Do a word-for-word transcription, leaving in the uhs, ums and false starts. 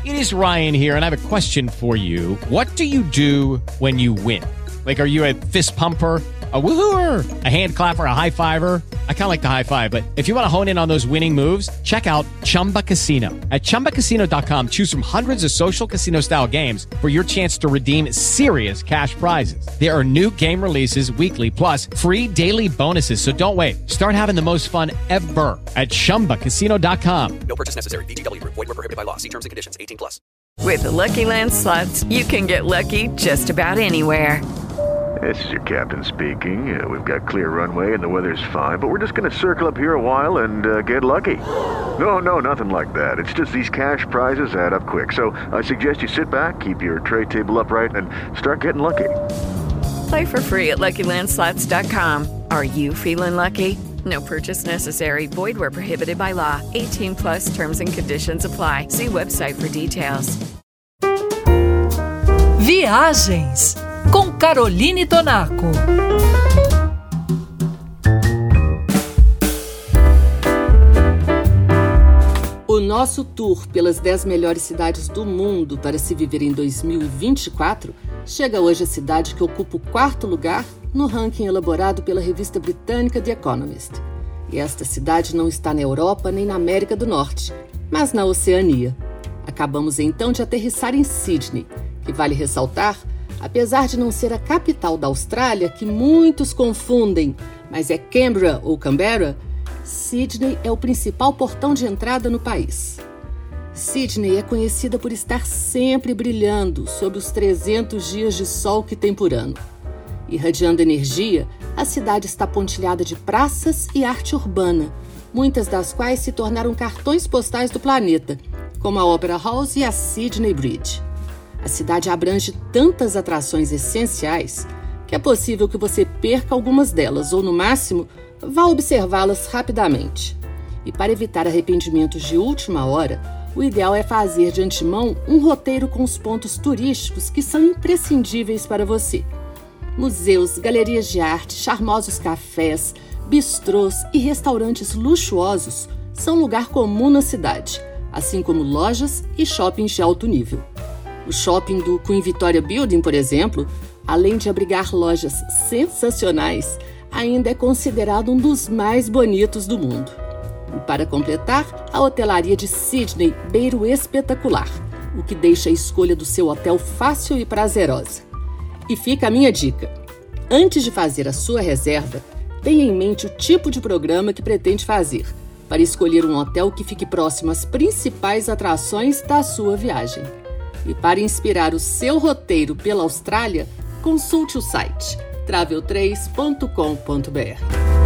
It is Ryan here, and I have a question for you. What do you do when you win? Like, are you a fist pumper, a woohooer, a hand clapper, a high fiver? I kind of like the high five, but if you want to hone in on those winning moves, check out Chumba Casino. At chumba casino dot com, choose from hundreds of social casino style games for your chance to redeem serious cash prizes. There are new game releases weekly, plus free daily bonuses. So don't wait. Start having the most fun ever at chumba casino dot com. No purchase necessary. V G W Group. Void where prohibited by law. See terms and conditions. eighteen plus. With the Lucky Land Slots, you can get lucky just about anywhere. This is your captain speaking. Uh, we've got clear runway and the weather's fine, but we're just going to circle up here a while and uh, get lucky. No, no, nothing like that. It's just these cash prizes add up quick. So I suggest you sit back, keep your tray table upright, and start getting lucky. Play for free at lucky land slots dot com. Are you feeling lucky? No purchase necessary. Void where prohibited by law. eighteen plus terms and conditions apply. See website for details. Viagens com Caroline Tonaco. O nosso tour pelas dez melhores cidades do mundo para se viver em dois mil e vinte e quatro chega hoje à cidade que ocupa o quarto lugar no ranking elaborado pela revista britânica The Economist. E esta cidade não está na Europa nem na América do Norte, mas na Oceania. Acabamos então de aterrissar em Sydney, que vale ressaltar, apesar de não ser a capital da Austrália, que muitos confundem, mas é Canberra ou Canberra, Sydney é o principal portão de entrada no país. Sydney é conhecida por estar sempre brilhando sob os trezentos dias de sol que tem por ano. Irradiando energia, a cidade está pontilhada de praças e arte urbana, muitas das quais se tornaram cartões postais do planeta, como a Opera House e a Sydney Bridge. A cidade abrange tantas atrações essenciais que é possível que você perca algumas delas ou, no máximo, vá observá-las rapidamente. E para evitar arrependimentos de última hora, o ideal é fazer de antemão um roteiro com os pontos turísticos que são imprescindíveis para você. Museus, galerias de arte, charmosos cafés, bistrôs e restaurantes luxuosos são lugar comum na cidade, assim como lojas e shoppings de alto nível. O shopping do Queen Victoria Building, por exemplo, além de abrigar lojas sensacionais, ainda é considerado um dos mais bonitos do mundo. E para completar, a hotelaria de Sydney beira o espetacular, o que deixa a escolha do seu hotel fácil e prazerosa. E fica a minha dica: antes de fazer a sua reserva, tenha em mente o tipo de programa que pretende fazer, para escolher um hotel que fique próximo às principais atrações da sua viagem. E para inspirar o seu roteiro pela Austrália, consulte o site travel três ponto com ponto b r.